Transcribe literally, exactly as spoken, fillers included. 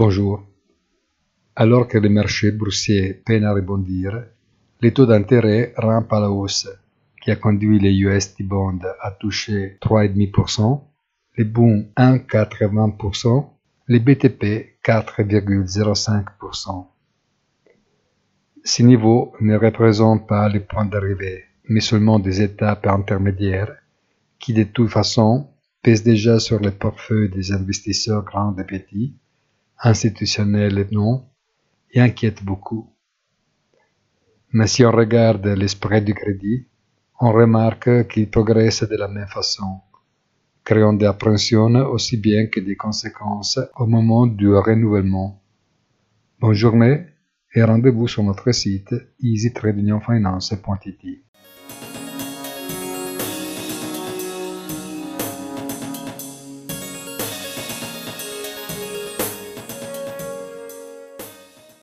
Bonjour. Alors que les marchés boursiers peinent à rebondir, les taux d'intérêt rampent à la hausse, qui a conduit les U S T-Bond à toucher trois virgule cinq pour cent, les Bunds un virgule quatre-vingts pour cent, les B T P quatre virgule zéro cinq pour cent. Ces niveaux ne représentent pas les points d'arrivée, mais seulement des étapes intermédiaires qui, de toute façon, pèsent déjà sur les portefeuilles des investisseurs grands et petits, institutionnels et non, et inquiètent beaucoup. Mais si on regarde les spreads du crédit, on remarque qu'ils progressent de la même façon, créant des appréhensions aussi bien que des conséquences au moment du renouvellement. Bonne journée et rendez-vous sur notre site easy trade union finance point I T.